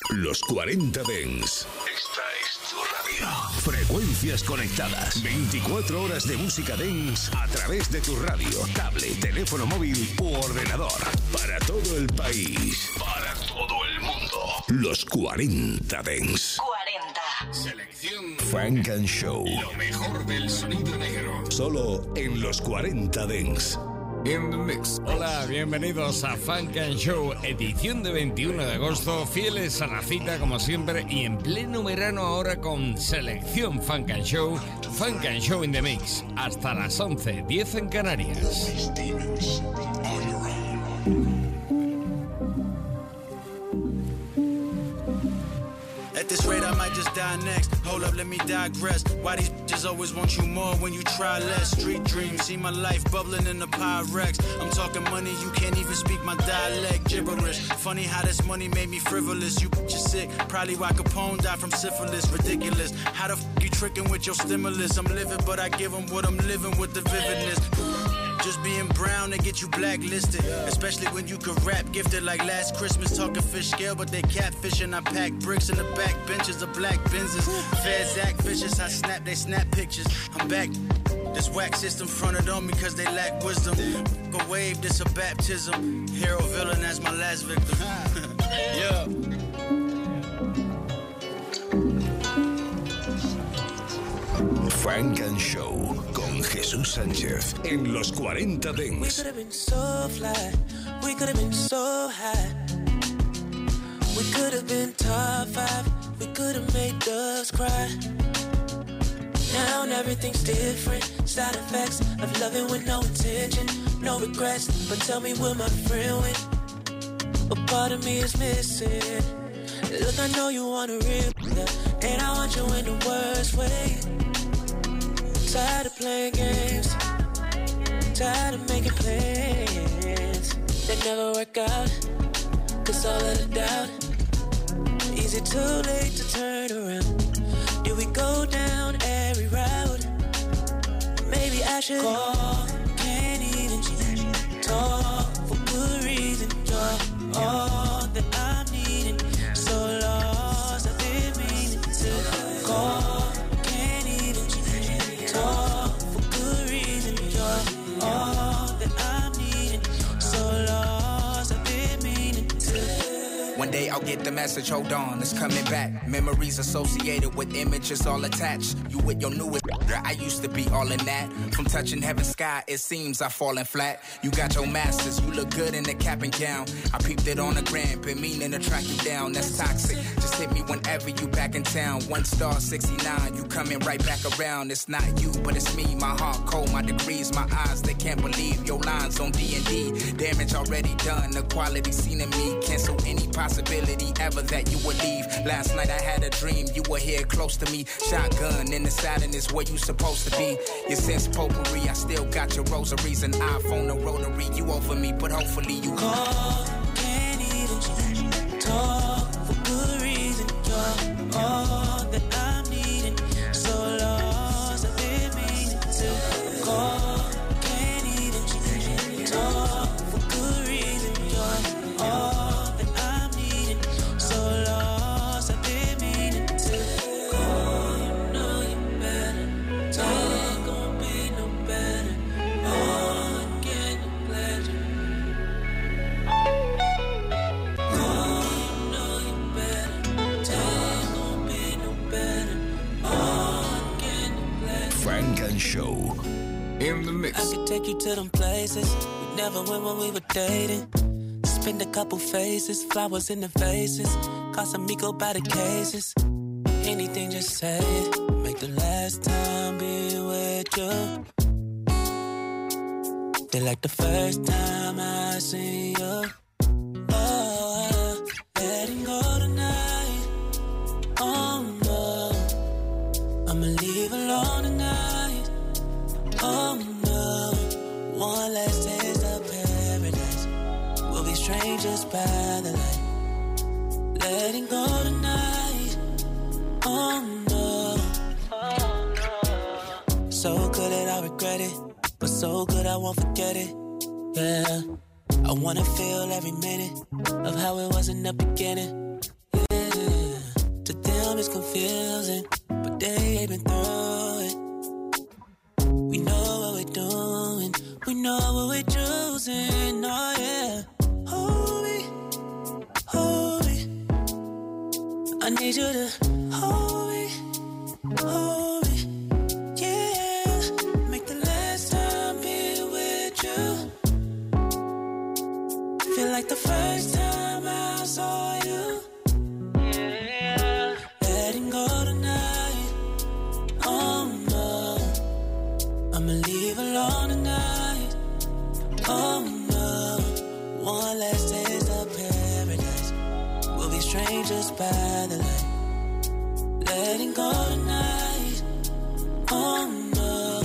Los 40 Dance. Esta es tu radio. Frecuencias conectadas. 24 horas de música dance a través de tu radio, tablet, teléfono móvil u ordenador. Para todo el país. Para todo el mundo. Los 40 Dance. 40. Selección Funk and Show. Lo mejor del sonido negro. Solo en Los 40 Dance. In the mix. Hola, bienvenidos a Funk and Show, edición de 21 de agosto, fieles a la cita como siempre y en pleno verano ahora con selección Funk and Show in the mix, hasta las 11:10 en Canarias. At this rate, I might just die next. Hold up, let me digress. Why these bitches always want you more when you try less? Street dreams, see my life bubbling in the Pyrex. I'm talking money, you can't even speak my dialect. Gibberish. Funny how this money made me frivolous. You bitches sick. Probably why Capone died from syphilis. Ridiculous. How the f you tricking with your stimulus? I'm living, but I give them what I'm living with the vividness. Just being brown, they get you blacklisted. Especially when you could rap gifted like last Christmas. Talking fish scale, but they catfishing. I pack bricks in the back benches of black Benzes. Feds act vicious, I snap, they snap pictures. I'm back. This whack system fronted on me cause they lack wisdom. Go wave, this a baptism. Hero villain, that's my last victim. Yeah. Funk and Show con Jesús Sánchez en Los 40 Dance. We could have been so fly, we could have been so high. We could have been top 5, we could have made doves cry. Now everything's different, side effects of loving with no intention, no regrets. But tell me, will my friend win? What part of me is missing? Look, I know you want a real and I want you in the worst way. Tired of playing games, tired of making plans that never work out, cause all of the doubt. Is it too late to turn around? Do we go down every route? Maybe I should call, can't even talk for good reason. You're all that I'm needing, so lost I've been meaning to call. For good reason, you're all that I'm needing. So lost, I've been meaning to. One day I'll get the message, hold on, it's coming back. Memories associated with images all attached. You with your newest, I used to be all in that. From touching heaven's sky, it seems I've fallen flat. You got your masters, you look good in the cap and gown. I peeped it on the gram, been meaning to track you down. That's toxic, just hit me whenever you back in town. 1 star 69, you coming right back around. It's not you, but it's me, my heart cold, my degrees, my eyes, they can't believe your lines on D&D. Damage already done, the quality seen in me. Cancel any possibility ever that you would leave. Last night I had a dream, you were here close to me. Shotgun in the sadness where you supposed to be. Your sense potpourri, I still got your rosaries. An iPhone, a rotary, you over me, but hopefully you call. Can't even talk for good reason. You're all that I'm needing. So lost, I've been meaning to call. Can't even talk for good reason. You're all that I'm needing. So lost, I've been meaning to call. You know you better. Ain't gonna be no better. Oh, get the pleasure. Oh, you know you better. Ain't gonna be no better. Oh, get the pleasure. Funk and Show in the mix. I could take you to them places we never went when we were dating. Spend a couple faces, flowers in the vases. Casamigo by the cases. Anything, just say it. Make the last time be with you feel like the first time I see you. Oh, letting go tonight. Oh no, I'ma leave alone tonight. Oh no, one last taste of paradise. We'll be strangers by the light. Letting go tonight. Oh no, so good that I regret it, but so good I won't forget it. Yeah, I wanna feel every minute of how it was in the beginning. Yeah. confusing, but they ain't been through it. We know what we're doing, we know what we're choosing, oh yeah. Hold me, I need you to hold me, yeah. Make the last time be with you feel like the first time I saw you. Yeah. Letting go tonight, oh no. I'ma leave alone tonight, oh no. One last taste of paradise, we'll be strangers by the light. Letting go tonight, oh no.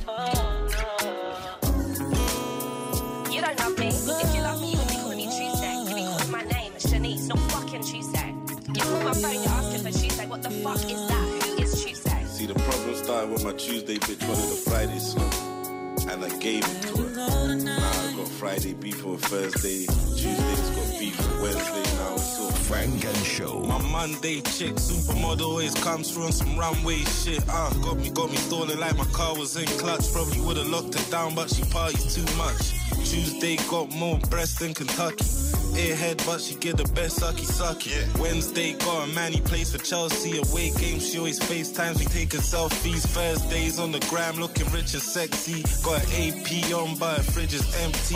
You don't love me. If you love me, you would be calling me Tuesday. You be calling my name Shanice, not fucking Tuesday. You call my phone, you're asking for Tuesday. What the fuck is that? Who is Tuesday? See, the problem started when my Tuesday bitch wanted a Friday slump, and I gave it to her. Now I got Friday beef on Thursday, Tuesday's got beef on Wednesday. Now it's all Frank and Show. My Monday chick, supermodel, always comes through on some runway shit. Got me stalling like my car was in clutch. Probably would've locked it down, but she parties too much. Tuesday got more breast than Kentucky. Airhead, but she get the best sucky. Yeah. Wednesday got a man, he plays for Chelsea. Away games, she always FaceTimes, we taking selfies. Thursdays on the gram, looking rich and sexy. Got an AP on, but her fridge is empty.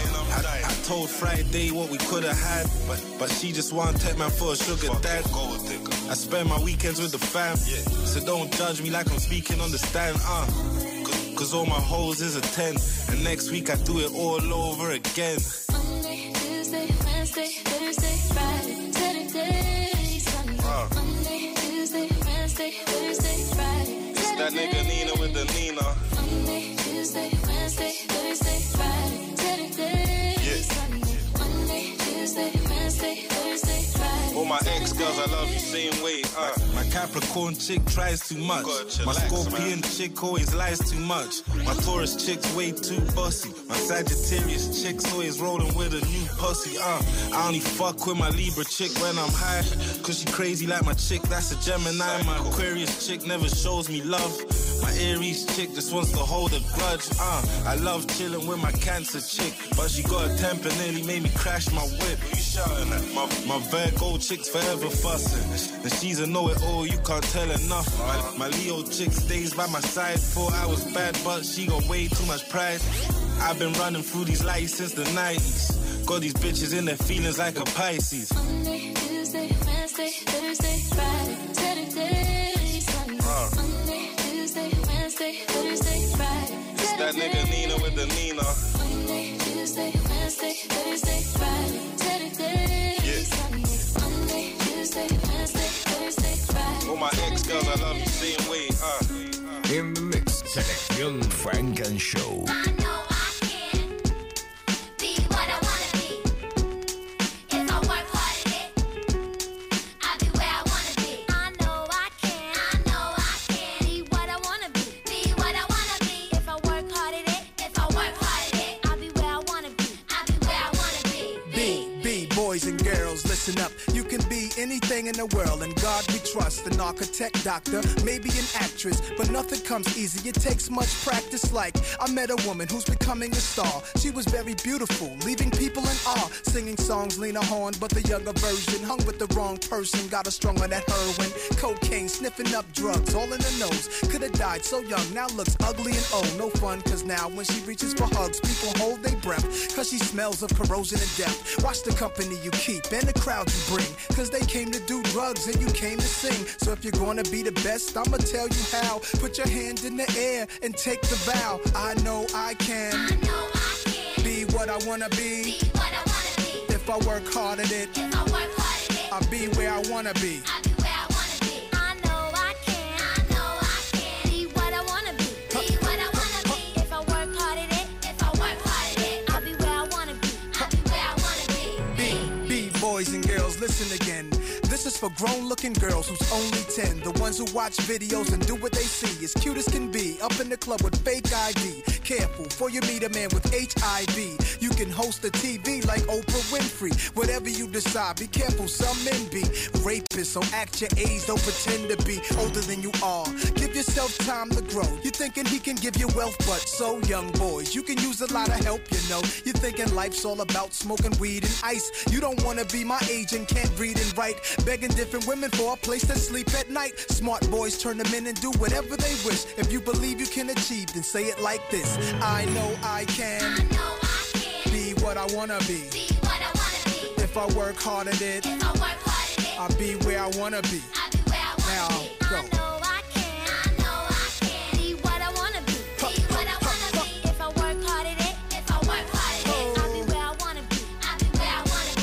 I told Friday what we could've had, but she just want take man for a sugar dad. I spend my weekends with the fam, so don't judge me like I'm speaking on the stand. Cause all my hoes is a 10, and next week I do it all over again. Monday, Tuesday, Wednesday, Thursday, Friday, Saturday, Sunday. Monday, Tuesday, Wednesday, Thursday, Friday, It's that nigga Nina with the Nina. Monday, Tuesday, Wednesday, Thursday, Friday, Saturday, Sunday. Monday, Tuesday, Wednesday, Thursday, Friday. All my ex-girls, I love you same way. My Capricorn chick tries too much. My Scorpion chick always lies too much. My Taurus chick's way too bossy. My Sagittarius chick's always rolling with a new pussy. I only fuck with my Libra chick when I'm high, cause she crazy like my chick, that's a Gemini. My Aquarius chick never shows me love. My Aries chick just wants to hold a grudge. I love chilling with my Cancer chick, but she got a temper, nearly made me crash my whip. You shouting at? My Virgo chick's forever fussing, and she's a know-it-all, you can't tell her nothing. My Leo chick stays by my side. Thought I was bad, but she got way too much pride. I've been running through these lights since the 90s. Got these bitches in their feelings like a Pisces. Monday, Tuesday, Wednesday, Thursday, Friday, Saturday, Sunday. Monday, Tuesday, Wednesday, Thursday, Friday, It's that nigga Nina with the Nina. Monday, Tuesday, Wednesday, Thursday, Friday, Saturday, Sunday. Monday, Tuesday, Wednesday, Thursday, Friday. All my ex-girls, I love you same way. In the mix, selección Frank and Show. I know I can be what I wanna be. If I work hard at it, I'll be where I wanna be. I know I can be what I wanna be. Be what I wanna be. If I work hard at it, I'll be where I wanna be. I'll be where I wanna be. Be boys and girls, listen up. You can be anything in the world, and God we trust. An architect, doctor, maybe an actress, but nothing comes easy. It takes much practice. Like I met a woman who's becoming a star. She was very beautiful, leaving people in awe. Singing songs, Lena Horne, but the younger version. Hung with the wrong person, got her strung on that heroin, cocaine, sniffing up drugs, all in the nose. Could've died so young, now looks ugly and old. No fun, cause now when she reaches for hugs, people hold their breath, cause she smells of corrosion and death. Watch the company you keep and the crowd you bring, cause they came to do drugs and you came to sing. So if you're gonna be the best, I'ma tell you how. Put your hand in the air and take the vow. I know I can be what I wanna be. If I work hard at it, I'll be where I wanna be. I know I can be what I wanna be. If I work hard at it, I'll be where I wanna be. Be boys and girls, listen again. This is for grown-looking girls who's only 10. The ones who watch videos and do what they see. As cute as can be, up in the club with fake ID. Careful, before you meet a man with HIV. You can host a TV like Oprah Winfrey. Whatever you decide, be careful, some men be rapists. So act your age, don't pretend to be older than you are. Give yourself time to grow. You're thinking he can give you wealth, but so young boys, you can use a lot of help, you know. You're thinking life's all about smoking weed and ice. You don't wanna be my age and can't read and write. Begging different women for a place to sleep at night. Smart boys turn them in and do whatever they wish. If you believe you can achieve, then say it like this. I know I can. I know I can. Be what I wanna be. Be what I wanna be. If I work hard at it, If I work hard at it, I'll be where I wanna be. I'll be where I wanna Now, be. go. I know I can. I know I can. Be what I wanna be. Be what I wanna be. If I work hard at it, if I work hard at it, I'll be where I wanna be. I'll be where I wanna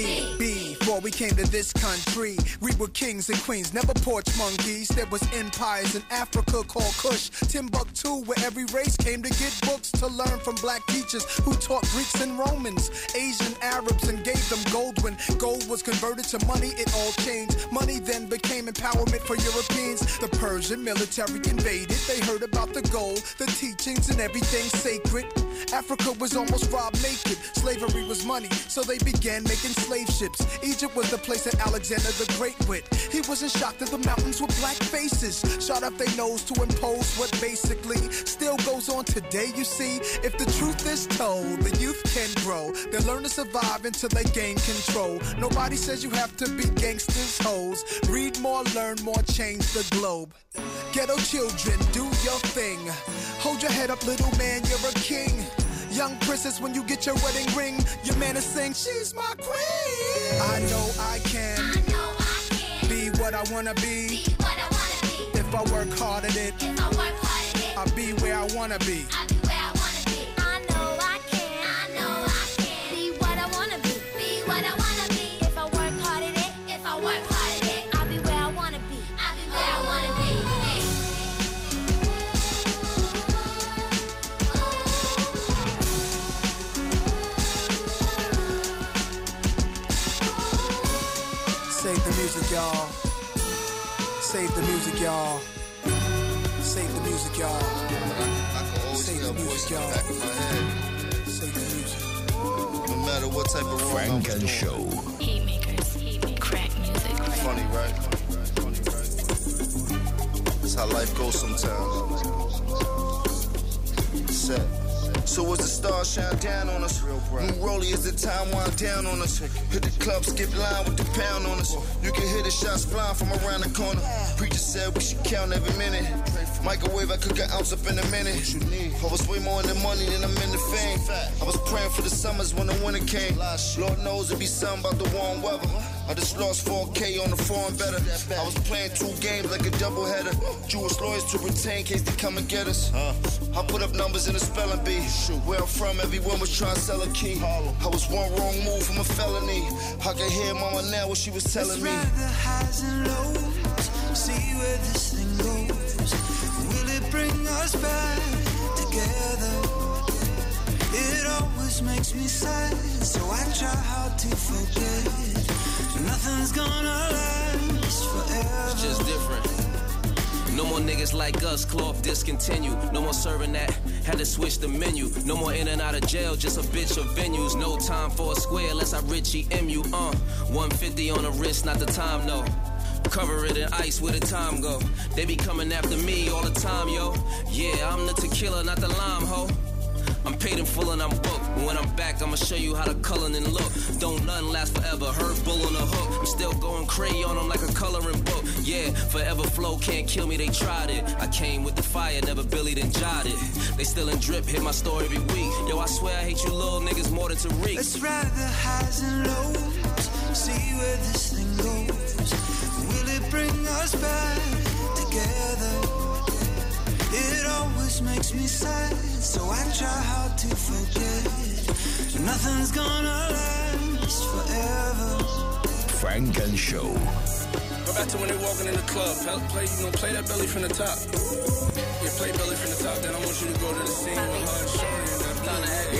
be. Before we came to this country, we were kings and queens, never porch monkeys. There was empires in Africa called Kush, Timbuktu, where every race came to get books to learn from black teachers who taught Greeks and Romans, Asian Arabs, and gave them gold. When gold was converted to money, it all changed. Money then became empowerment for Europeans. The Persian military invaded. They heard about the gold, the teachings, and everything sacred. Africa was almost robbed naked. Slavery was money, so they began making slave ships. Egypt was the place that Alexander the Great went. He wasn't shocked that the mountains were black faces, shot up their nose to impose what basically still goes on today, you see. If the truth is told, the youth can grow. They'll learn to survive until they gain control. Nobody says you have to be gangsters, hoes. Read more, learn more, change the globe. Ghetto children, do your thing. Hold your head up, little man, you're a king. Young princess, when you get your wedding ring, your man is saying, she's my queen. I know I can. I know I can. Be what I wanna be. Be what I wanna be. If I work hard at it, If I work hard at it, I'll be where I wanna be. I'll be where I wanna be. I know I can. I know I can. Be what I wanna be. Be what I wanna be. If I work hard at it, if I work hard at it, I'll be where I wanna be. I'll be where I wanna be. Save the music, y'all. Save the music, y'all. Save the music, y'all. Save the music, y'all. Save the music. No matter what type of wrong Frank I was and doing. Show. Heat makers, crack music. Funny, right? That's how life goes sometimes. Set. So as the stars shine down on us, new rollie as the time wind down on us. Hit the club, skip line with the pound on us. You can hear the shots flying from around the corner. Preacher said we should count every minute. Microwave, I cook an ounce up in a minute. I was way more in the money than I'm in the fame. I was praying for the summers when the winter came. Lord knows it'd be something about the warm weather. I just lost 4K on the foreign better. I was playing 2 games like a doubleheader. Jewish lawyers to retain in case they come and get us. I put up numbers in a spelling bee. Where I'm from, everyone was trying to sell a key. I was one wrong move from a felony. I can hear mama now what she was telling me. Let's ride the highs and lows, see where this thing goes. Will it bring us back together? It always makes me sad, so I try hard to forget. Nothing's gonna last forever. It's just different. No more niggas like us, cloth discontinued. No more serving that, had to switch the menu. No more in and out of jail, just a bitch of venues. No time for a square unless I Richie MU. 150 on the wrist, not the time, no. Cover it in ice where the time go. They be coming after me all the time, yo. Yeah, I'm the tequila, not the lime, ho. I'm paid in full and I'm booked. When I'm back, I'ma show you how the coloring look. Don't nothing last forever. Heard bull on the hook. I'm still going crazy on them like a coloring book. Yeah, forever flow can't kill me. They tried it. I came with the fire, never Billy then jotted. They still in drip, hit my story every week. Yo, I swear I hate you little niggas more than Tariq. Let's ride the highs and lows, see where this thing goes. Will it bring us back together? It always makes me sad, so I try hard to forget. Nothing's gonna last forever. Frank and Show. Go back to when they walking in the club. Play that belly from the top. Yeah, play belly from the top. Then I want you to go to the scene with her and Shorty and them.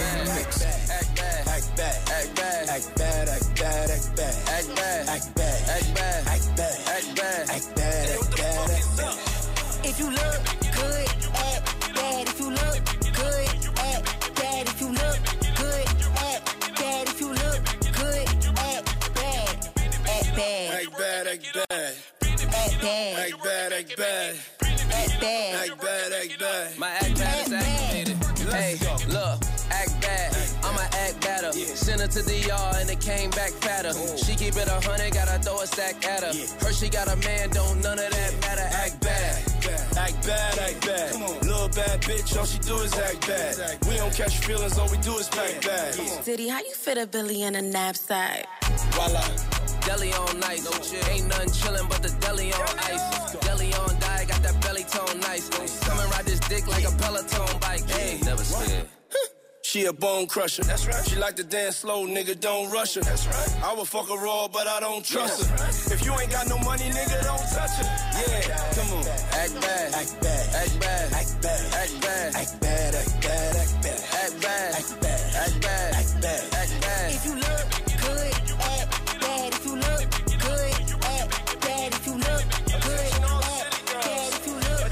Act bad, act bad, act bad, act bad, act bad, act bad, act bad, act bad, Act bad. Act bad. Act bad. Act bad. Act bad. Act bad. If you look good, act bad. If you look good, act bad. If you look good, act bad. If you look good, act bad. Act bad. Act bad, act bad. Act bad. Act bad, act bad. Act bad. Act bad, act bad. My act bad is activated. Hey, look, act bad. I'ma act better. Send her to DR and it came back fatter. She keep it 100, gotta throw a stack at her. Her she got a man, don't none of that matter. Act bad. Act bad, act bad. Little bad bitch, all she do is act bad. We don't catch feelings, all we do is pack bad. Diddy, how you fit a Billy in a knapsack? Voila. Deli on nice, no chill. Ain't nothing chillin' but the deli on ice. Deli on die, got that belly tone nice. Come and ride this dick like a Peloton bike. Hey, never scared. She a bone crusher. That's right. She like to dance slow, nigga, don't rush her. That's right. I would fuck her raw, but I don't trust her. If you ain't got no money, nigga, don't touch her. Yeah, come on. Act bad. Act bad. Act bad. Act bad. Act bad. Act bad. Act bad. Act bad. Act bad. Act bad. Act bad. Act bad. Act bad. If you look good, act bad. If you look good, act bad. If you look good, act bad. If you look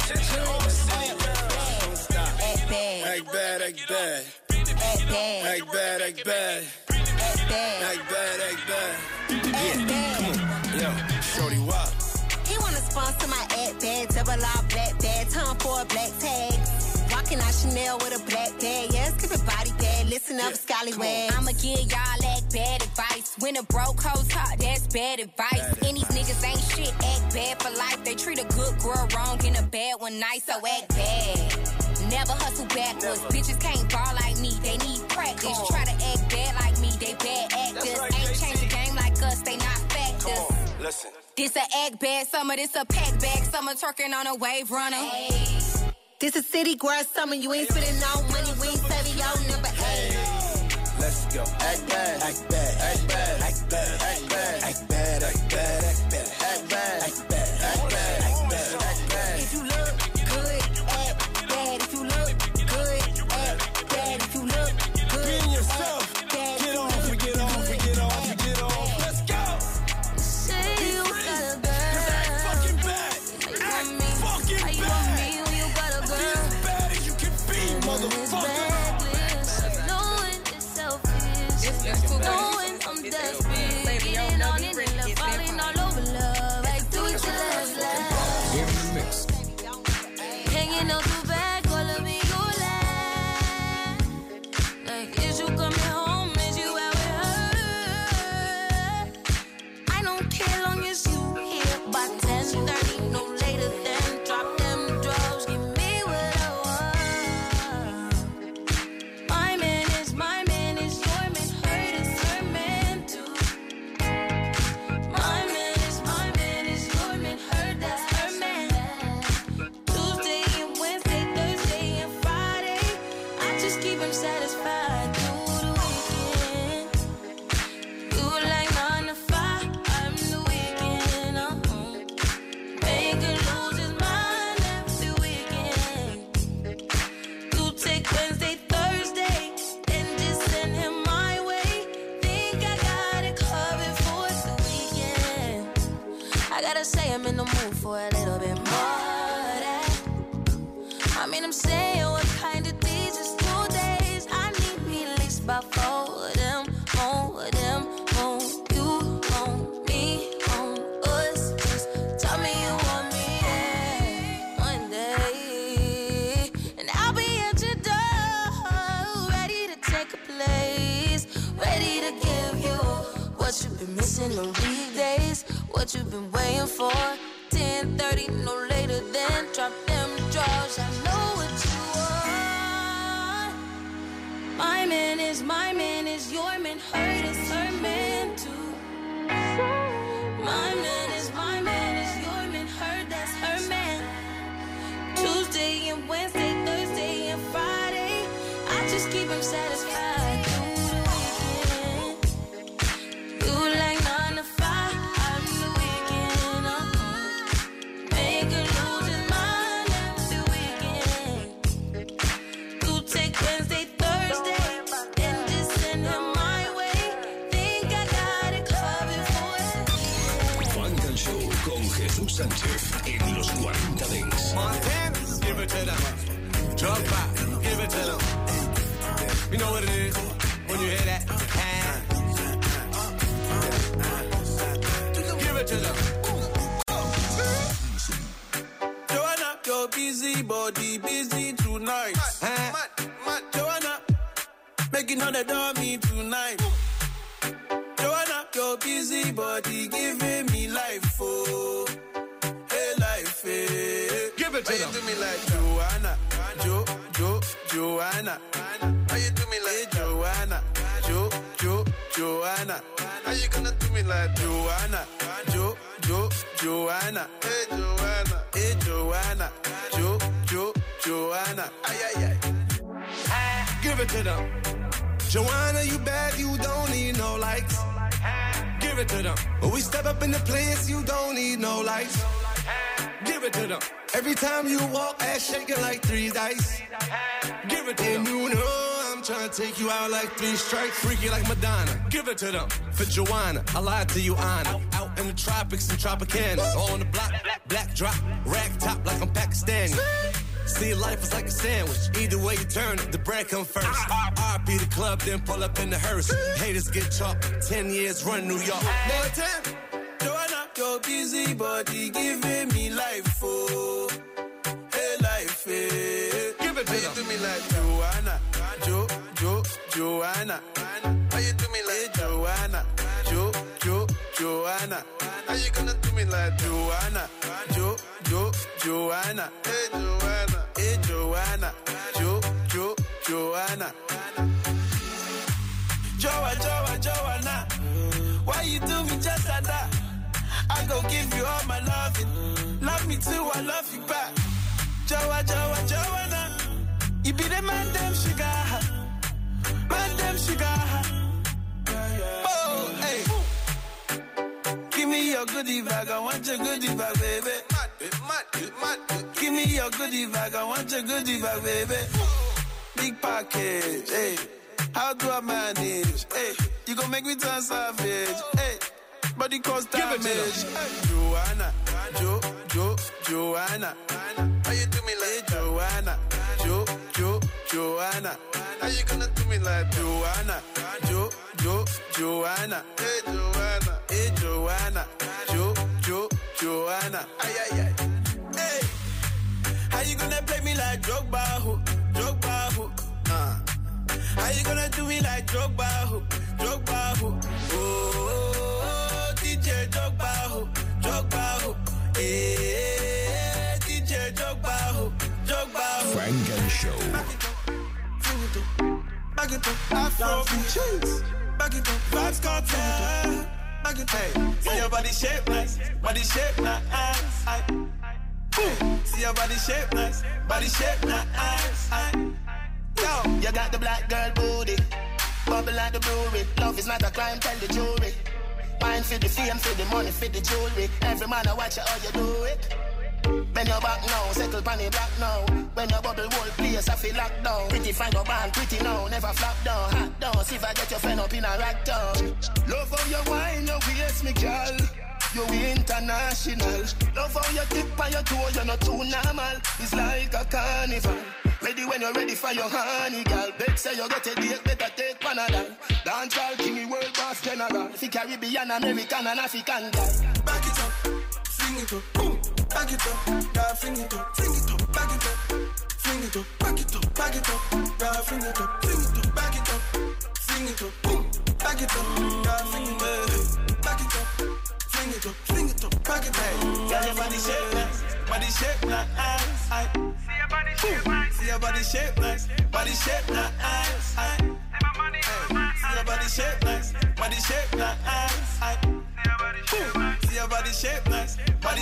good, act bad. Act bad, act bad. Act bad. Act bad, act bad. Act bad. Act bad, act bad. Act bad. Yo, shorty, why? He wanna sponsor my act bad, double R black bag, time for a black tag. Walking out Chanel with a black bag, yeah, skip it body bag, listen up, scallywag. I'ma give y'all act bad advice. When a broke hoe talk, that's bad advice. And these niggas ain't shit, act bad for life. They treat a good girl wrong and a bad one nice, so act bad. Never hustle backwards. Bitches can't ball like me, they need practice. Try to act bad like me, they bad actors. Right, ain't changed the game like us, they not factors. Listen. This a act bad summer, this a pack bag summer, twerking on a wave runner. Hey. This a city girl summer, you ain't spending no money, we ain't saving your number. Hey. Let's go. Act bad. Act bad. Act bad. Act bad. Act bad. Act bad. Act bad. Act bad. Act bad. Act bad. Act bad. Act bad. Act bad. If you look good, act bad. If you look good, act bad. If you look good, Be in yourself. act bad. Get off, get off, get off, get off. Let's go. Say you got a girl. Act fucking bad. Act fucking How you bad. want me when you got a Be girl? as bad as you can be, It's motherfucker. reckless, knowing it's selfish, knowing I'm desperate, getting on it and love, falling all over love. I do it till last. In the mix. Hanging out the back, all of me you laugh. Like, is you coming home? Is you out with her? I don't care long as you here by 10:30, no later than drop them drugs, give me what I want. My man is your man, hurt is her man too. My man is your man, hurt that's her man. Tuesday and Wednesday, Thursday and Friday, I just keep him satisfied through the weekend. You like 9 to 5, I'm the weekend. Make her lose his mind every weekend. You take Wednesday, Thursday, and just send him my way. Think I got it covered for the weekend. I gotta say I'm in the mood for a little bit more of that. I mean, I'm saying what kind of days is 2 days. I need me at least about 4 of them, more of them, more you, on me, on us. Just tell me you want me one day, and I'll be at your door, ready to take a place, ready to give you what you've been missing on weekdays, what you've been waiting for. 10:30, no later than drop them drawers. I know what you want. My man is your man, hurt is her man too. My man is your man, hurt that's her man. Tuesday and Wednesday, Thursday and Friday, I just keep him satisfied through the weekend. You like 9 to 5, I'm the weekend. Make her lose his mind every weekend. You take Wednesday, Thursday, and just send him my way. Think I got it covered for the con Jesús Sánchez en los 40 Dents. Montana, give it to them. Drop back, give it to them. You know what it is when you hear that. Give it to them. Joanna, your busy body busy tonight. Joanna, making all the dummy tonight. Joanna, your busy body giving me life, oh. Hey, life, hey. Give it to them. Why you do me like Joanna? Joanna. Why you do me like Joanna? Joanna. How you gonna do me like Joanna? Joanna. Hey, Joanna. Joanna. Ay. Give it to them. Joanna, you bad, you don't need no likes. Give it to them. When we step up in the place, you don't need no lights. Give it to them. Every time you walk, ass shaking like 3 dice. Give it to them. And you know I'm trying to take you out like 3 strikes. Freaky like Madonna. Give it to them. For Joanna, I lied to you, Anna. Out in the tropics and Tropicana. On the block, black drop, rag top like I'm Pakistani. See, life is like a sandwich. Either way you turn it, the bread come first. RP the club, then pull up in the hearse. Haters get chalk. 10 years run New York. Montana, Joanna, your busy body giving me life, oh. Hey, life, hey. Give it to them. How you do me like Joanna? Joanna. How you do me like Joanna? Joanna. How you gonna do me like Joanna? Joanna. Hey, Joanna. Joanna. Joanna. Why you do me just like that? I go give you all my loving. Love me too, I love you back. Joanna. You be the man, damn sugar. Man, damn sugar. Oh, hey. Give me your goodie bag, I want your goodie bag, baby. Give me your goodie bag, I want your goodie bag, baby. Big package, hey. How do I manage? Hey, you gon' make me turn savage. Hey, body cause damage. Hey. Joanna, Joanna. How you do me like Joanna? Joanna. How you gonna do me like Joanna? Joanna. Hey, Joanna. Joanna. Ay. Hey, how you gonna play me like Drogba? How you gonna do me like Drogba? Oh, DJ Drogba. Hey, DJ Drogba. Funk and Show. Back it up, Afro cheese. Back it up, vibes cartel. Back it up, hey. See your body shape nice, Hey. See your body shape nice, Yo, you got the black girl booty, bubble like the brewery. Love is not a crime, tell the jury. Mine for the fame, for the money, for the jewelry. Every man I watch you how you do it. Bend your back now, settle pan the black now. When your bubble whole place, I feel locked down. Pretty fine your band, pretty now, never flop down. Hot down, see if I get your friend up in a rack down. Love how you wine, your waist, me girl. You international. Love how you tip on your toe, you're not too normal. It's like a carnival. Ready when you're ready for your honey, girl. Bet say you get a date, better take Panadol. Dancehall king, world boss general. Fi Caribbean, American and African girl. Back it up, fling it up, boom. Back it up, girl, fling it up, back it up, fling it up, back it up, girl, fling it up, back it up, fling it up, boom. Back it up, girl, fling it up, back it up, fling it up, back it up. Girl, your body shape nice, See your body shape nice, body shape nice, See your body shape nice, See your body shape nice,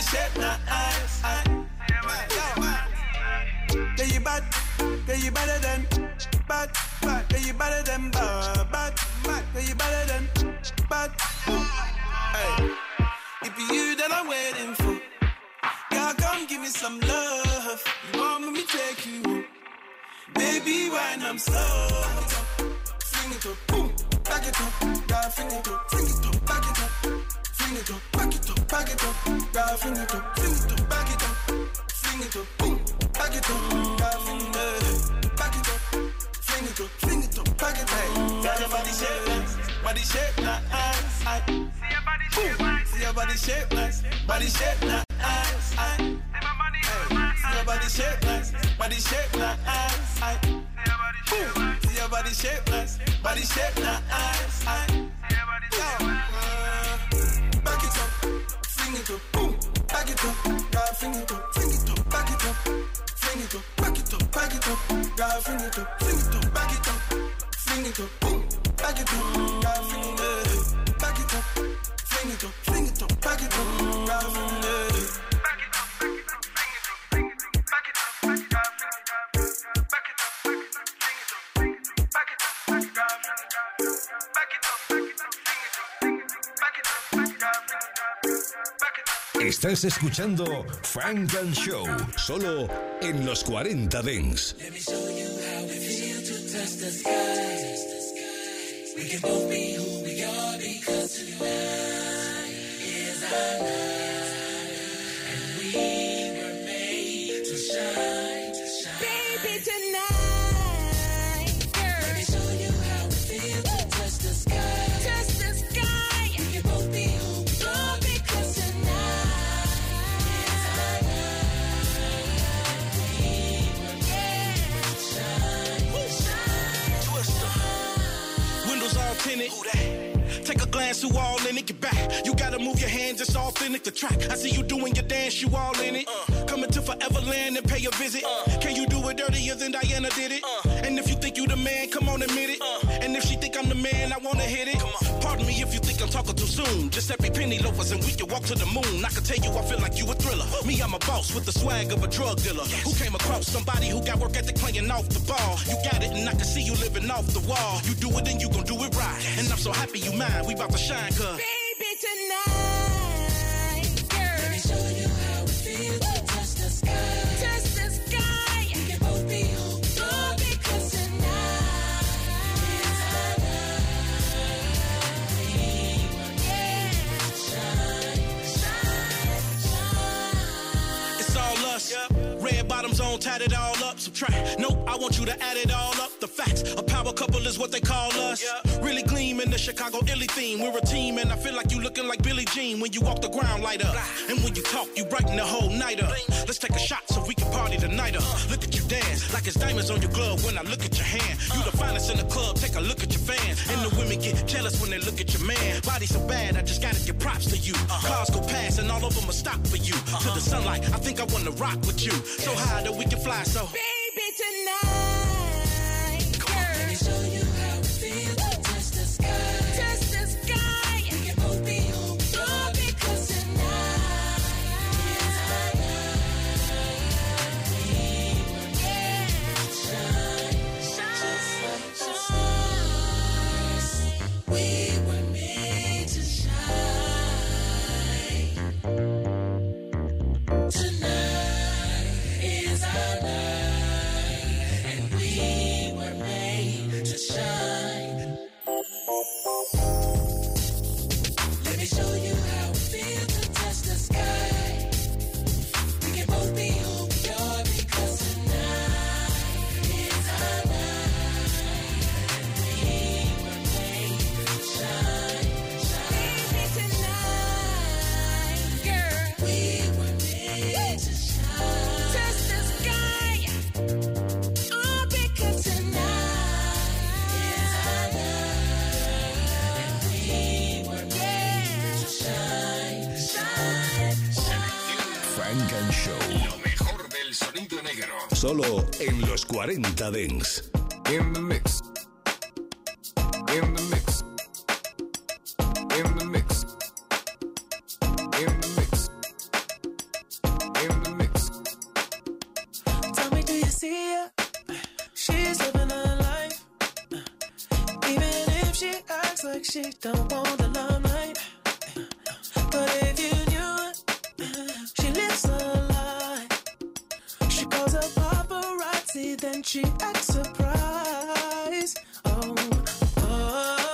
Yeah, you bad, yeah, you better than bad, yeah, you better than bad, yeah, you better than bad. Hey, if you that I'm waiting for, girl, come give me some love. You want me to take you, baby, when I'm slow. Fling it up, boom. back it up, girl, fling it up, back it up, fling it up, back it up, back it up, girl, fling it up, back it up, fling it up, boom, back it up, girl, fling it up, back it up, fling it up, back it up. Tell your body shape nice, body shape nice. See your body shape nice, body shape nice. See your body shape nice, body shape nice. See your body shape nice, body shape nice. Back it up, fling it up, boom, back it up, girl, fling it up, back it up, fling it up, back it up, back it up, girl, fling it up, back it up, fling it up, boom, back it up, girl, fling it up, back it up, fling it up, back it up, girl, fling it up. Estás escuchando Funk and Show, solo en los 40 Dance. Let me show you how we feel to touch the sky. We can both be who we are because tonight is our night. And we were made to shine, baby, tonight, girl. Let me show you how we feel to touch the sky. Touch the sky. We can both be who we are because tonight is our night. We were made to shine, Windows all tinted. Take a glance through all in it, get back. You gotta move your hands, it's authentic, the track. I see you doing your dance, you all in it. Coming to Foreverland and pay a visit. Can you do it dirtier than Diana did it? And if you think you the man, come on, admit it. And if she think I'm the man, I wanna hit it. Pardon me if you think I'm talking too soon. Giuseppe Penny loafers and we can walk to the moon. I can tell you I feel like you a thriller. Me, I'm a boss with the swag of a drug dealer. Who came across somebody who got work ethic playing off the ball. You got it and I can see you living off the wall. You do it and you gon' do it right. And I'm so happy you mine, we about to shine, cuz baby, tonight, girl. Let me show you how we feel to touch the sky. Touch the sky. We can both be who we are because tonight is our night. We were made to shine, shine, shine. it's all us. Red bottoms on, tied it all up. Subtract. Nope, I want you to add it all up. The facts, a power couple is what they call us. Really gleam in the Chicago Illy theme. We're a team and I feel like you looking like Billie Jean. When you walk the ground light up. And when you talk, you brighten the whole night up. Let's take a shot so we can party tonight up. Look at you dance, like it's diamonds on your glove when I look at your hand. You the finest in the club, take a look at your fans. And the women get jealous when they look at your man. Body so bad, I just gotta give props to you. Cars go past and all of them will stop for you. To the sunlight, I think I wanna rock with you. So high that we can fly, so baby, tonight, girl. Let me show you how we feel to touch the sky. Touch the sky. We can both be who we are because tonight is our night. We were made to shine, shine, shine. We were made to shine. Tonight is our night, and we were made to shine. Let me show you how we feel to touch the sky. We can both be who we are because tonight is our night, and we were made to shine, shine. Baby, tonight, girl, we were made to shine. Touch the sky. Oh, because tonight is our night, and we were made to shine, shine, shine. Funk and Show. Lo mejor del sonido negro. Solo en los 40 Dance. In the mix. In the mix. In the mix. In the mix. In the mix. Tell me, do you see her? She's living her life. Even if she acts like she don't want the limelight. But if you knew it, she lives a lie. She calls her paparazzi, then she acts surprised. Oh, oh.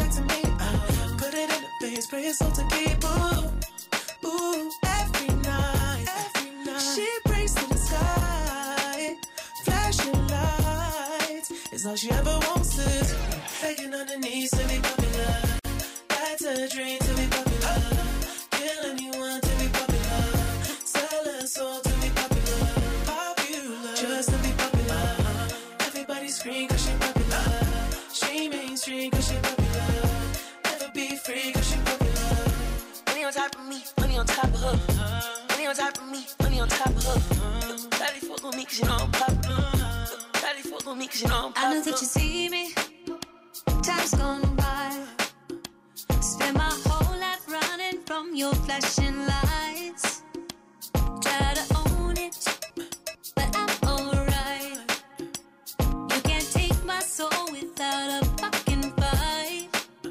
back to me. Put it in the face, pray it's all to keep. Ooh, ooh, every night. She prays to the sky, flashing lights. It's all she ever wants is begging on her knees to be popular. That's a dream to be popular. Kill anyone to be popular. Sell her soul to be popular. Popular, just to be popular. Everybody scream cause she popular. She mainstream cause she popular. Never be free cause she popular. Money on top of me, money on top of her. Money on top of me, money on top of her. Daddy fuck on me cause you know I'm popular. Daddy fuck on me cause you know I'm popular. I know that you see me. Time's gone by. Spend my whole life running from your flashing lights. Try to own it, but I'm alright. You can't take my soul without a fucking fight.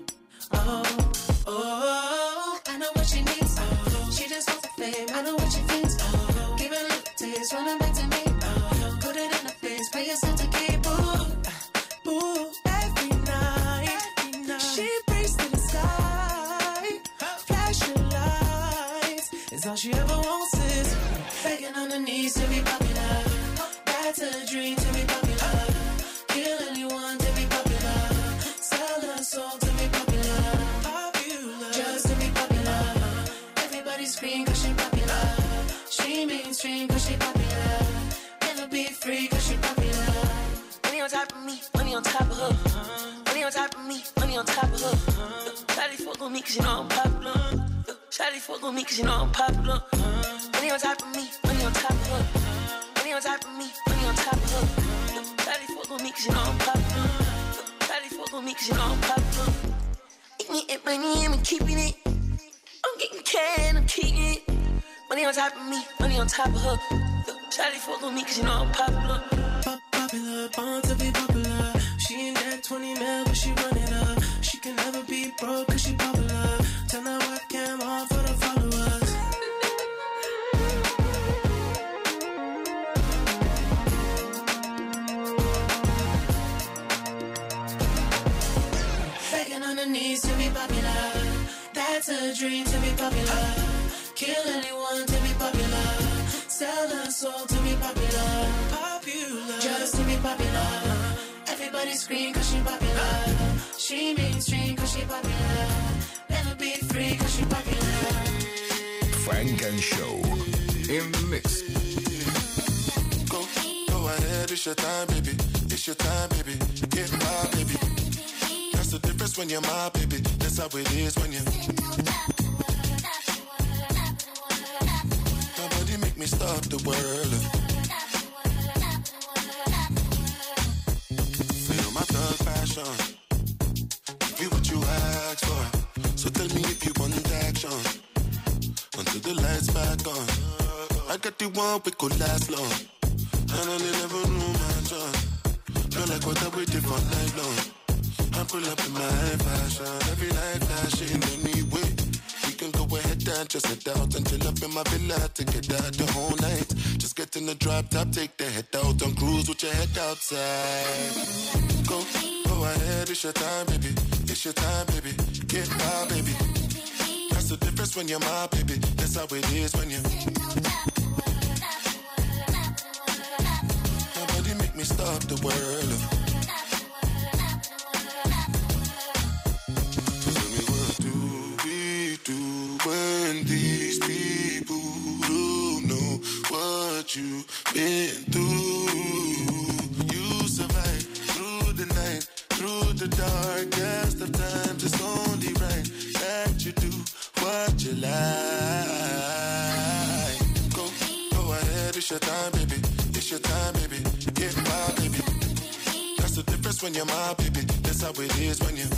Oh, I know what she needs. She just wants the fame. I know what she thinks. Give it a little taste, running back to me. Put it in her face, pay yourself to keep. Ooh, every night. She prays to the sky, flashing lights. It's all she ever wants is begging on her knees to be popular. That's a dream to be popular. Kill anyone to be popular. Sell her soul to be popular. Popular, just to be popular. Everybody scream cause she popular. She mainstream cause she popular. Never be free cause she popular. Money on top of me, money on top of her. Money on top of me, money on top of her. Shawty fuck on me cause you know I'm popular. Shawty fuck on me cause you know I'm popular. Money on top of me, money on top of her. Money on top of me, money on top of her. Shawty fuck on me cause you know I'm popular. Shawty fuck on me cause you know I'm popular. Eating it, money, I'm keeping it. I'm getting cash, I'm keeping it. Money on top of me, money on top of her. Shawty fuck on me cause you know I'm popular. Popular, born to be popular. She ain't that 20 mil, but she run it up. She can never be broke cause she popular. Turn that webcam on for the followers. Begging on her knees to be popular. That's a dream to be popular. Kill anyone to be popular. Sell her soul to be popular. Popular, just to be popular. Everybody scream cause she popular. She mainstream cause she popular. Never be free cause she popular. Funk and Show in the mix. Go ahead, it's your time, baby. It's your time, baby. Get my baby. That's the difference when you're my baby. That's how it is when you. Nobody make me stop the world. Feel my thug passion. Give you what you asked for. So tell me if you want action. Until the lights back on. I got the one we could last long. And I never knew my job. Feel like what I waited for night long. I pull up in my fashion. Every night flashing anyway. We can go ahead and just head out and chill up in my villa to get out the whole night. Just get in the drop top, take the head out and cruise with your head outside. Go ahead, it's your time, baby. It's your time, baby. Get my baby. That's the difference when you're my baby. That's how it is when you. Nobody make me stop the world. So tell me, what do we do when these people don't know what you've been through? You survive through the night, through the darkest of times. It's only right that you do what you like. Go ahead, it's your time, baby. It's your time, baby. Get my baby. That's the difference when you're my baby. That's how it is when you.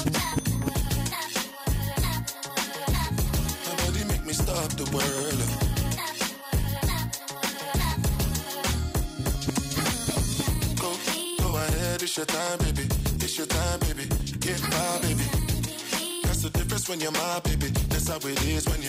Nobody make me stop the world. Go ahead, it's your time, baby. It's your time, baby. Get my baby. That's the difference when you're my baby. That's how it is when you.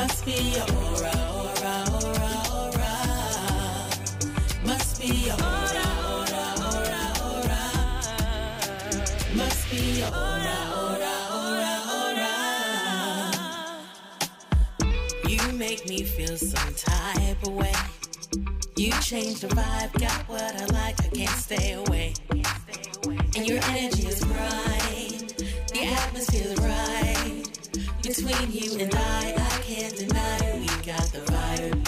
Must be your aura, aura, aura, aura. Must be your aura, aura, aura, aura. Must be your aura, aura, aura, aura. You make me feel some type of way. You change the vibe, got what I like, I can't stay away. And your energy is bright, the atmosphere is right. Between you and I can't deny we got the vibe.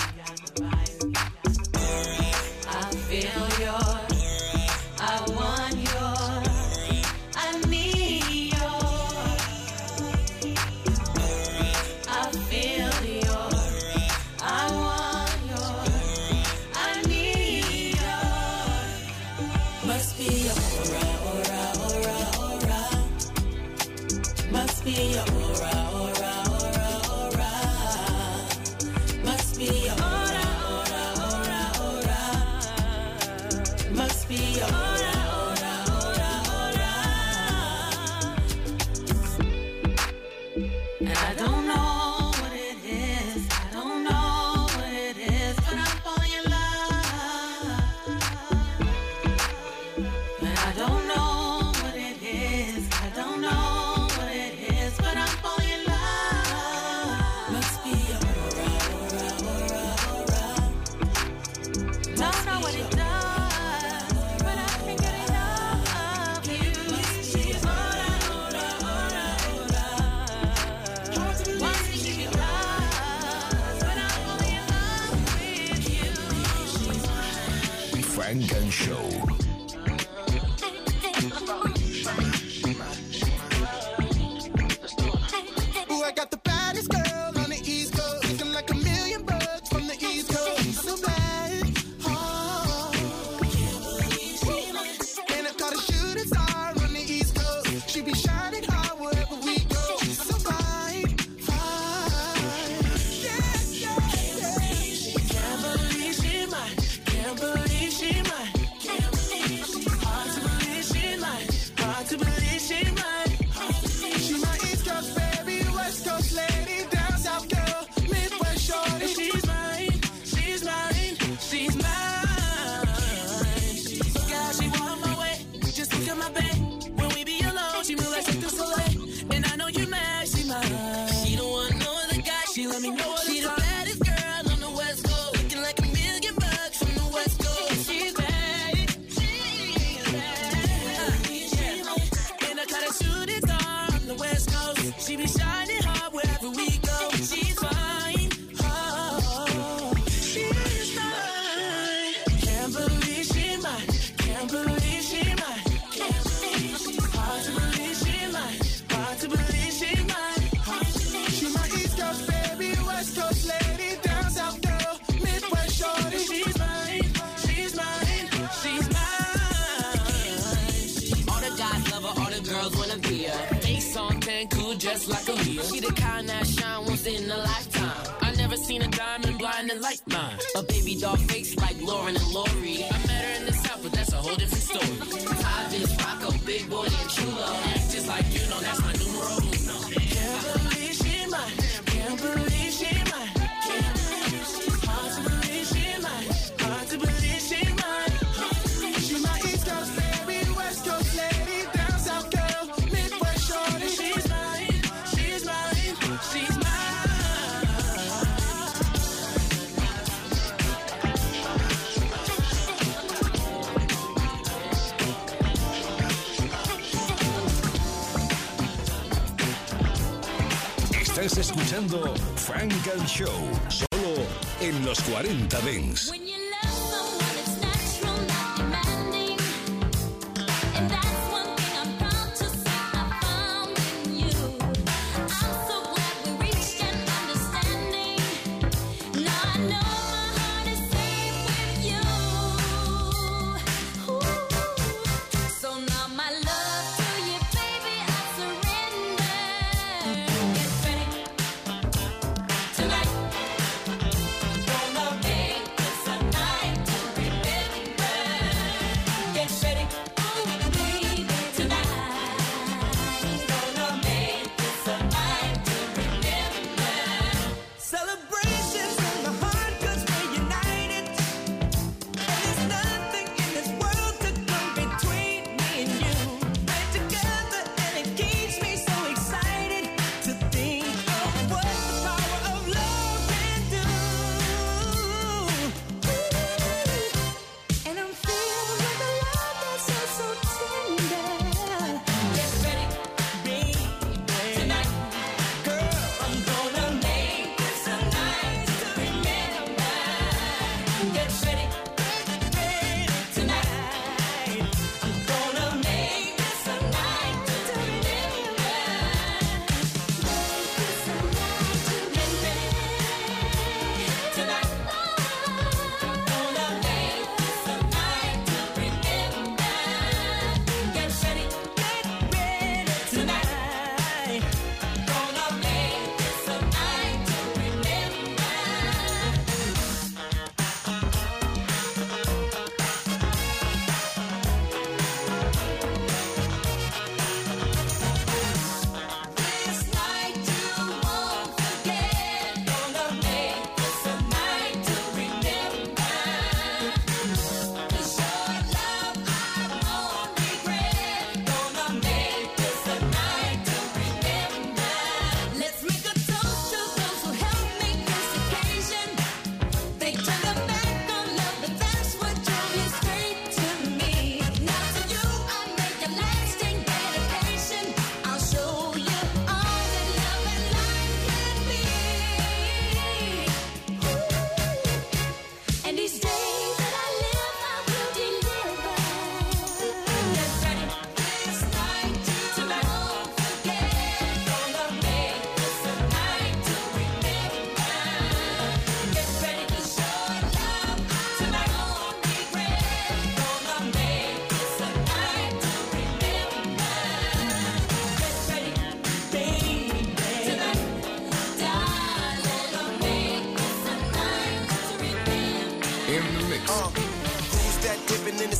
I feel yours, I want yours, I need yours. I feel yours, I want yours, I need yours. Must be your aura, aura, aura, aura. Must be your aura, aura, aura, aura. Must be your aura, aura, aura, aura. Must be your aura, aura, aura, aura. And I don't know what it is, I don't know what it is, but I'm falling in love. And I don't know what it is, I don't know what it is, but I'm falling in love. Must be your aura, aura, aura, aura. Don't know what it does, but I can't get enough of you. Must be your aura, aura, aura, aura. Wants to give you love, but I'm falling in love with you. Funk and Show. Ooh, I got the baddest girl on the East Coast, looking like a million bucks from the East Coast. So bad, oh. And I caught a shooting star on the East Coast. She be shining hard wherever we go. So fine, fine. Yeah, yeah, yeah. Can't believe she mine. Can't believe she mine. Hard to believe she mine. Hard to believe she mine. She my East Coast baby, West Coast lady, down South girl, Midwest shorty. She's mine, she's mine, she's mine. God, she want my way, just look at my babe. When we be alone, she move like Cirque du Soleil. And I know you mad, she mine. She don't want no other guy, she let me know all the time. She the baddest girl on the West Coast, looking like a million bucks from the West Coast. She's bad, she's bad. And I caught a shooting star on the West Coast. She be shining hard wherever we go. She's fine, oh, she's mine. Can't believe she mine. Can't believe she mine. Hard to believe she mine. Hard to believe she mine. She my East Coast baby, West Coast lady, down South girl, Midwest shorty. She's mine, she's mine, she's mine. All the guys love her, all the girls wanna be her. Face on 10, cool just like a wheel. She the kind that shine once in a lifetime. I never seen a diamond blinding like mine. A baby doll face like Lauren and Lori. I met her in the South, but that's a whole different story. I just rock a big boy and chulo. Act just like you know, that's my numero uno. Can't believe she mine. Can't believe she mine. Hard to believe she mine. Hard to believe she mine. She my East Coast baby, West Coast lady, down South girl, Midwest shorty. She's mine, she's mine, she's mine. Estás escuchando Funk and Show, solo en los 40 Dents. When you love someone, it's natural, not demanding. And that's one thing I'm proud to say I found in you. I'm so glad we reached an understanding. Now I know my heart is safe with you. Ooh. So now my love to you, baby, I surrender. Get ready tonight. Gonna make this a night.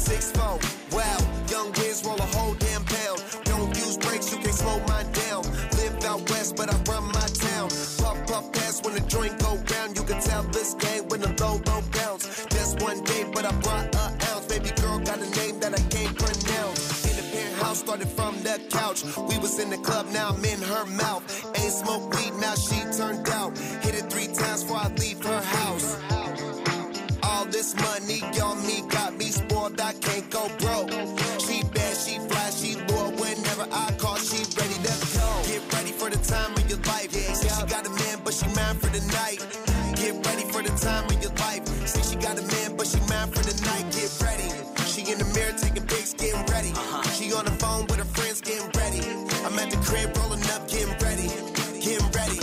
6'4", wow, young Wiz roll a whole damn pound. Don't use brakes, you can't slow mine down. Live out west, but I run my town. Puff, puff, pass when the joint go round. You can tell this game when the low bounce. Just one day, but I brought an ounce. Baby girl got a name that I can't pronounce. In the penthouse, started from the couch. We was in the club, now I'm in her mouth. Ain't smoke weed, now she turned out. Hit it 3 times before I leave her house. All this money on me got me spoiled, I can't go broke. She bad, she fly, she loyal. Whenever I call, she ready to go. Get ready for the time of your life. Say she got a man, but she mine for the night. Get ready for the time of your life. Say she got a man, but she mine for the night. Get ready. She in the mirror taking pics, getting ready. She on the phone with her friends, getting ready. I'm at the crib rolling up, getting ready. Getting ready.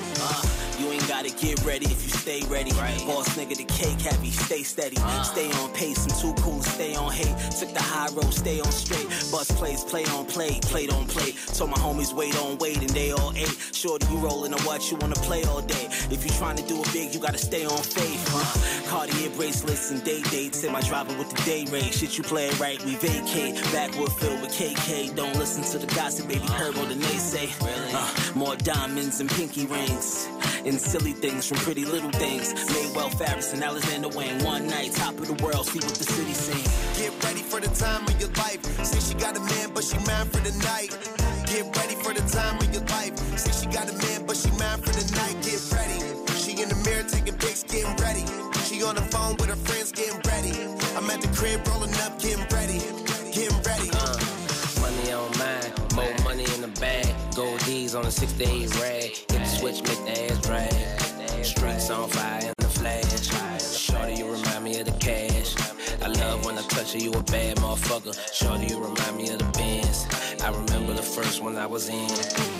You ain't gotta get ready if you stay ready. Right. Boss nigga, the cake heavy, stay steady. Stay on pace, I'm too cool to stay on hate. Took the high road, stay on straight. Bus plays, play on play, played on play. Told my homies wait on wait and they all ate. Shorty, you rolling or what? You wanna play all day. If you trying to do it big, you gotta stay on faith. Cartier bracelets and day dates. Say my driver with the day rate. Shit, you play it right, we vacate. Backwood filled with KK. Don't listen to the gossip, baby. Heard what the naysay. More diamonds and pinky rings. And silly things from pretty little things. Maywell Farris and Alexander Wang. One night, top of the world, see what the city sing. Get ready for the time of your life. Say she got a man, but she mine for the night. Get ready for the time of your life. Say she got a man, but she mine for the night. Get ready. She in the mirror taking pics, getting ready. She on the phone with her friends, getting ready. I'm at the crib rolling up, getting ready. Getting ready. Money on mine, more money in the bag. Gold D's on a 6 to 8 rag. Hit the switch, make the ass brag. Streets on fire in the flash. Shorty, you remind me of the cash. I love when I touch you, you a bad motherfucker. Shorty, you remind me of the Benz. I remember the first one I was in.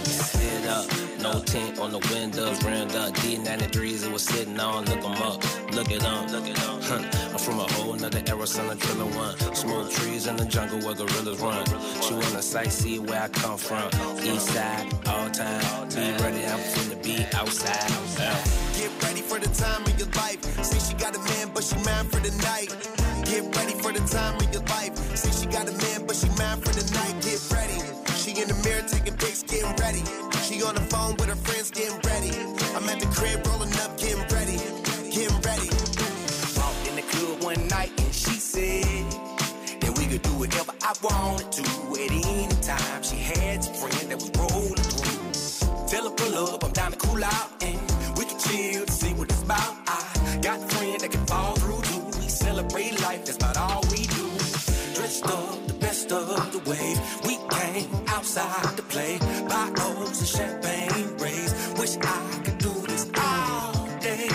Sit up, no tint on the windows, rimmed up. D93s it was sitting on, look 'em up, look it up. I'm from a whole nother era, son of Driller One. Smoke trees in the jungle where gorillas run. She wanna sightsee where I come from. East side, all time. Be ready, I'm finna be outside. Get ready for the time of your life. Say she got a man, but she mine for the night. Get ready for the time of your life. Say she got a man, but she mine for the night. Get ready. She in the mirror taking pics, getting ready. She on the phone with her friends, getting ready. I'm at the crib rolling up, getting ready. Getting ready. Walked in the club one night and she said that we could do whatever I wanted to at any time. She had some friends that was rolling through. Tell her pull up, I'm down to cool out and we can chill to see what it's about. I got a friend that can fall through too. We celebrate life, that's about all we do. Dressed up the best of the way. We came outside to play. Bottles of champagne raised. Wish I could do this all day.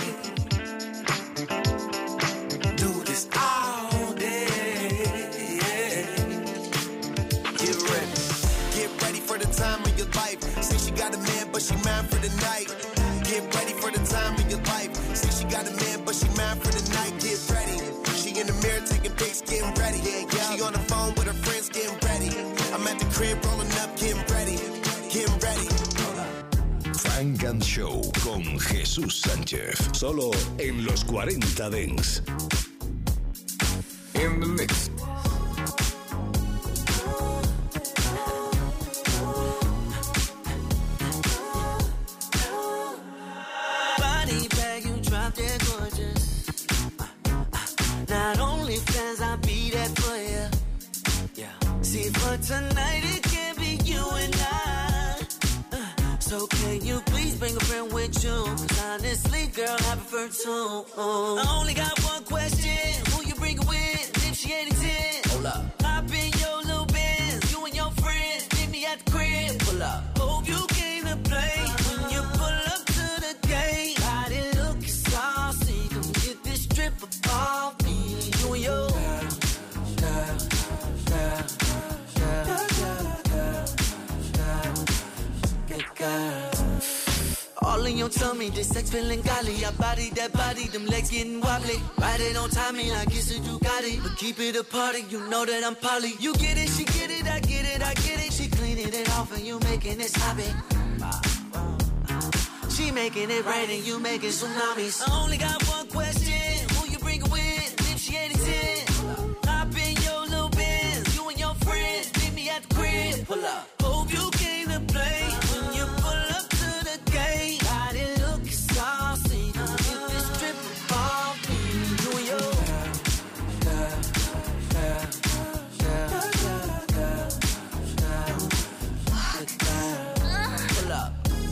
Do this all day. Get ready. Get ready for the time of your life. Say she got a man, but she mine for the night. Get ready for the time of your life. Say she got a man, but she mine for the night. Get ready. She in the mirror taking pics, getting ready. She on the phone with her friends, getting ready. I'm at the crib rolling up, getting ready. Getting ready. Funk and Show con Jesús Sánchez. Solo en los 40 Dents. In the mix. Body bag, you drop dead gorgeous. Not only fans, I'll be there for you. Yeah. See, for tonight, it can be you and I. So can you please bring a friend with you? 'Cause honestly, girl, I prefer two. I only got one question. Who you bring it with? If she ain't a 10. Hold up. Hop in your little Benz. You and your friends. Meet me at the crib. Pull up. Hope you came to play. When you pull up to the gate. Body looking saucy. Come get this strip off me. You and your girl. All in your tummy, this sex feeling golly. I body that body, them legs getting wobbly. Ride it on timing like it's a Ducati. But keep it a party, you know that I'm poly. You get it, she get it, I get it, I get it. She cleaning it off and you making it sloppy. She making it rain and you making tsunamis. I only got one question, who you bring it with? If she ain't a 10, hop in your Pull up. Hope you came to play when you pull up to the gate. Body look saucy. Get this trip off me. New York. Pull up.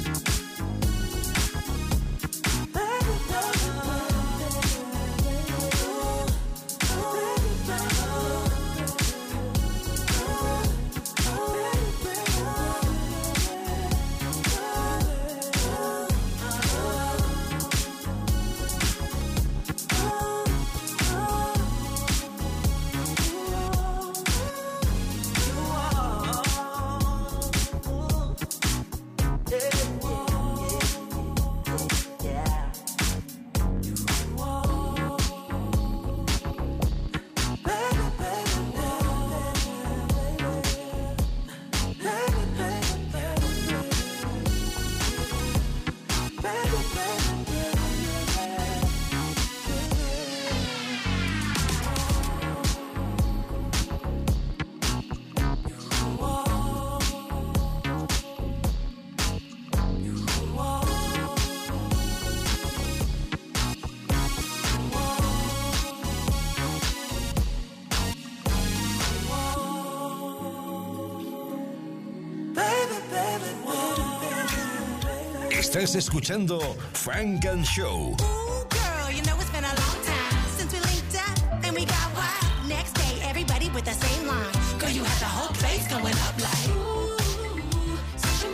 Estás escuchando Funk and Show. Ooh, girl, you know it's been a long time since we linked up and we got wild. Next day, everybody with the same line. Girl, you had the whole place going up like, ooh, such a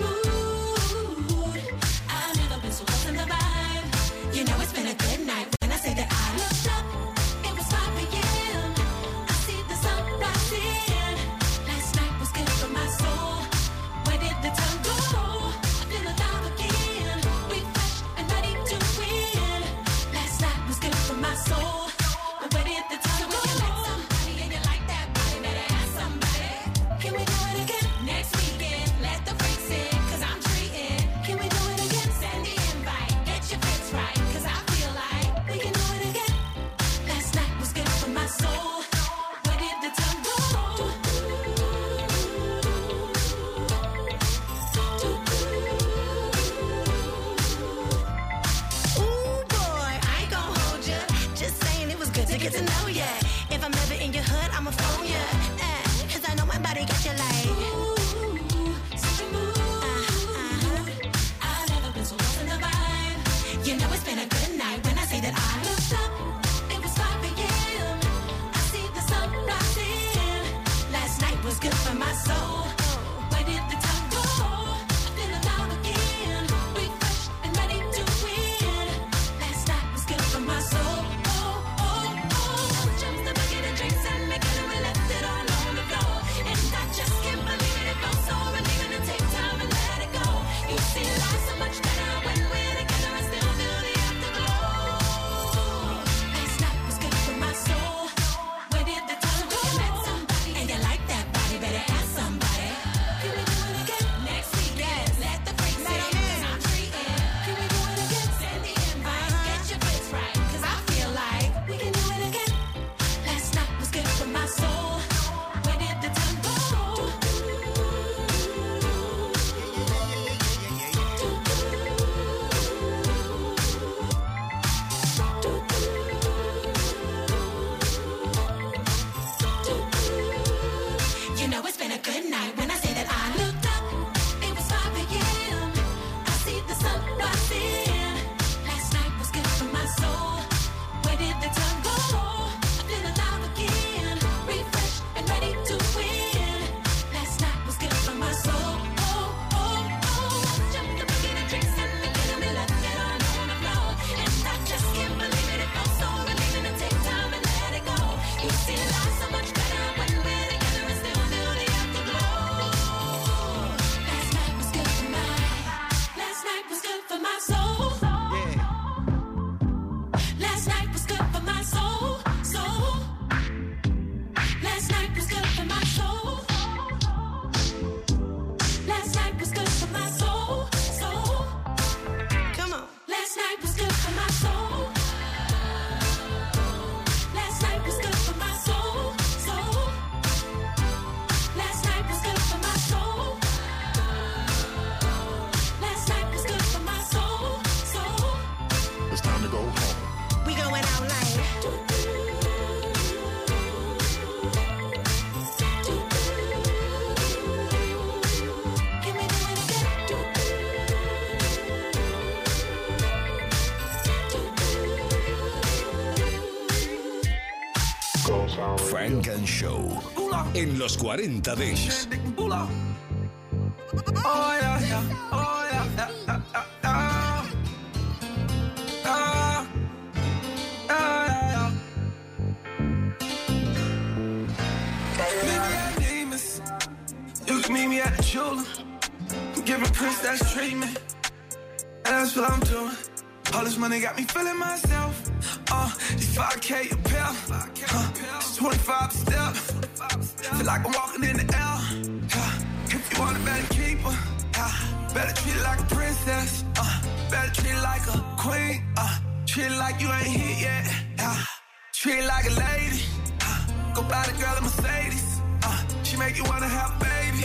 mood. I've never been so lost in the vibe. You know it's been a good night when I say that I looked up. It was 5 p.m. I see the sun rising. Last night was good for my soul. Where did the time go? I feel alive again. We fresh and ready to win. Last night was good for my soul. But where did the time go? You like somebody and you like that body, better ask somebody. Can we do it again next weekend? Let the freaks in, 'cause I'm treating. Can we do it again? Send the invite. Get your fix right, 'cause I feel like we can do it again. Last night was good for my soul. Where did the time go? Ooh, boy, I ain't gon' hold ya. Just saying it was good to get to know ya. If I'm ever in your hood, I'ma phone ya. 'Cause I know my body got you like, ooh, such a mood. I've never been so lost in the vibe. You know it's been a good night when I say that I looked up. It was 5 p.m. I see the sun rising. Last night was good for my soul. Where did the time go? I feel alive again. We fresh and ready to win. Last night was good for my soul. Oh, oh, oh. Jumps the bucket and drinks and make it and we left it all on the floor. And I just can't believe it. It felt so relieving to take time and let it go. You see life so much better when we're together and still feel the afterglow. Last night was good for my soul. Where did the time go? You met somebody and you like that body, better ask somebody. it's time to go home. We going out like. Funk and Show en los 40 Dance. Oh yeah, yeah, oh yeah, yeah, yeah, yeah, yeah. Demons. You can meet me at the jeweler. I'm giving princess treatment, and that's what I'm doing. All this money got me feeling myself. These 5K a pill. It's 25 a step. Feel like I'm walking in the L. If you want it, better keep her. Better treat it like a princess. Better treat it like a queen. Treat it like you ain't hit yet. Treat it like a lady. Go buy the girl a Mercedes. She make you wanna have a baby.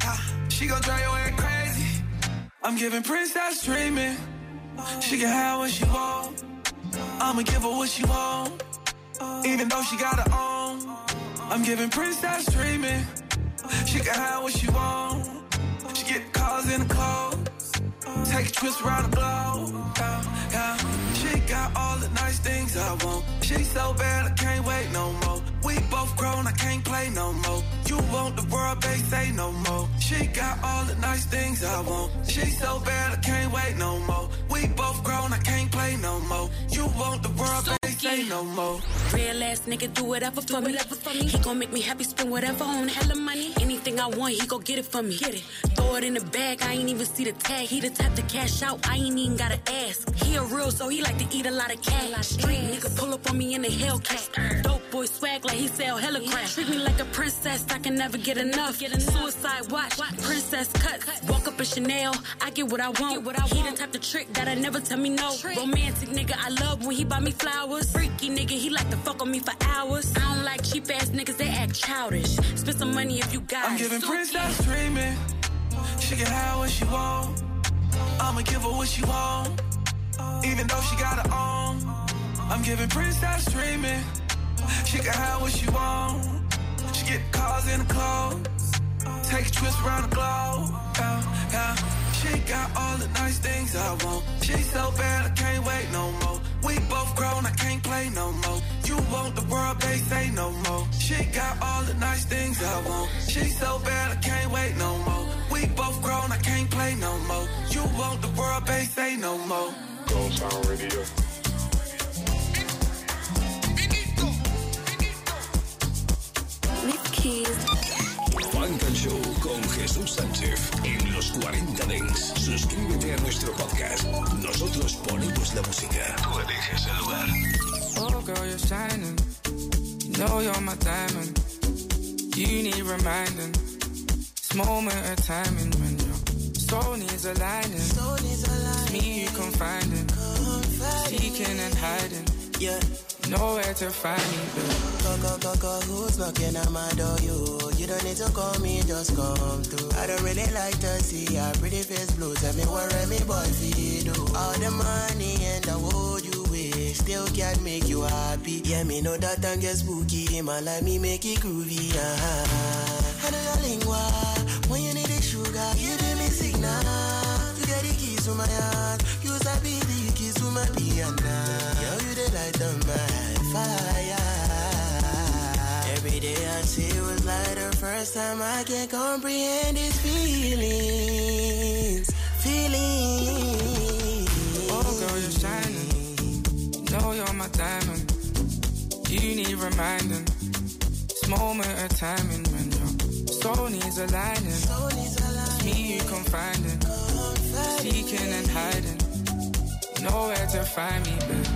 She gon' drive your head crazy. I'm giving princess treatment. She can have what she want. I'ma give her what she want. Even though she got her own. I'm giving princess treatment. She can have what she want. She get cars in the clothes. Take trips around the globe. Yeah. She got all the nice things I want. She so bad I can't wait no more. We both grown, I can't play no more. You want the world, babe, say no more. She got all the nice things I want. She so bad I can't wait no more. We both grown, I can't play no more. You want the world, babe, say no more. Real ass nigga do whatever for me. He gon' make me happy, spend whatever on hella money. Anything I want, he gon' get it for me. Get it. Throw it in the bag, I ain't even see the tag. He the type to cash out, I ain't even gotta ask. He a real, so he like to eat a lot of cash. Street nigga pull up on me in the Hellcat. Dope boy swag like he sell hella crack. Treat me like a princess, I can never get enough. Suicide watch, princess cuts. Walk up in Chanel, I get what I want. He the type to trick that I never tell me no. Romantic nigga, I love when he buy me flowers. Freaky nigga, he like to fuck on me for hours. I don't like cheap ass niggas, they act childish. Spend some money if you got it. I'm giving princess treatment. She can have what she want. I'ma give her what she want. Even though she got her own. I'm giving princess treatment. She can have what she want. She get cars in the clothes. Take trips around the globe. Yeah, yeah. She got all the nice things I want. She so bad I can't wait no more. We both grown, I can't play no more. You want the world, they say no more. She got all the nice things I want. She so bad I can't wait no more. We both grown, I can't play no more. You want the world, they say no more. Gold Sound Radio. Funk and Show con Jesús Sánchez en los 40 Dance. Suscríbete a nuestro podcast. Nosotros ponemos la música. Tú eliges el lugar. Oh girl, you're shining. You know you're my diamond. You need reminding. This moment of timing when your soul needs aligning. It's me you confiding. Seeking and hiding. Yeah. Nowhere to find me, babe. Go, who's knocking on my door? You don't need to call me, just come through. I don't really like to see your pretty face blue. Tell me what me boy do. All the money and the world you wish still can't make you happy. Yeah, me know that time get spooky. Man, like me make it groovy. I know your lingua. When you need the sugar, you give me signal. You get the keys to my heart. You sabi the keys to my piano. Yo, you the light on my fire. Every day I see it was like the first time I can comprehend these feelings. Oh girl, you're shining. You know you're my diamond. You need reminding. This moment of timing when your soul needs aligning. It's me you confiding. Seeking and hiding. Nowhere to find me, babe.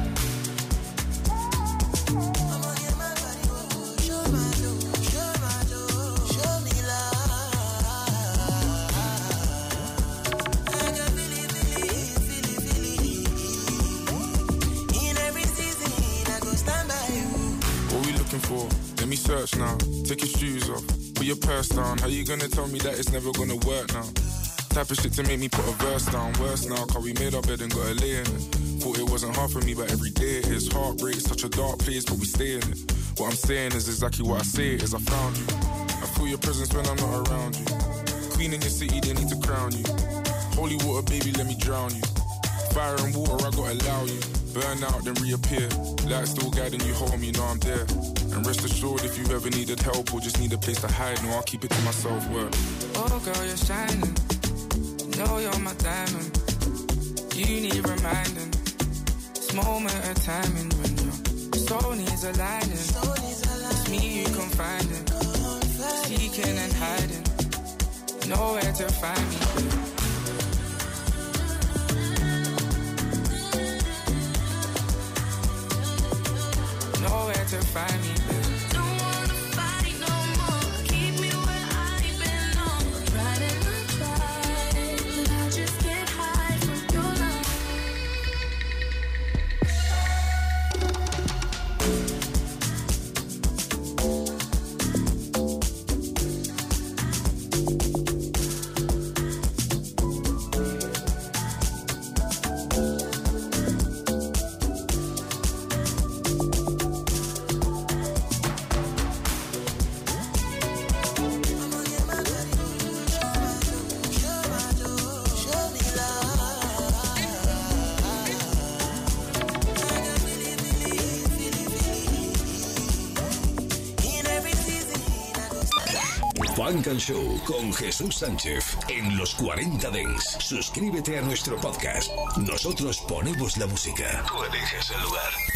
For. Let me search now, take your shoes off, put your purse down. How you gonna tell me that it's never gonna work now? Type of shit to make me put a verse down. Worse now, cause we made our bed and got a lay in it. Thought it it wasn't hard for me, but every day it is. Heartbreak is such a dark place, but we stay in it. What I'm saying is exactly what I say is I found you. I feel your presence when I'm not around you. Queen in your city, they need to crown you. Holy water, baby, let me drown you. Fire and water, I gotta allow you. Burn out, then reappear. Light still guiding you home, you know I'm there. And rest assured, if you ever needed help or just need a place to hide, no, I'll keep it to myself, word. Oh girl, you're shining. Know you're my diamond. You need reminding. This moment of timing when your soul needs aligning. It's me you confiding. Seeking and hiding. Nowhere to find me. Nowhere to find me. Don't wanna fight no more. Keep me where I belong. Tried and I tried, but I just get high from your love. Funk and Show con Jesús Sánchez en los 40 Dents. Suscríbete a nuestro podcast. Nosotros ponemos la música. Tú eliges el lugar.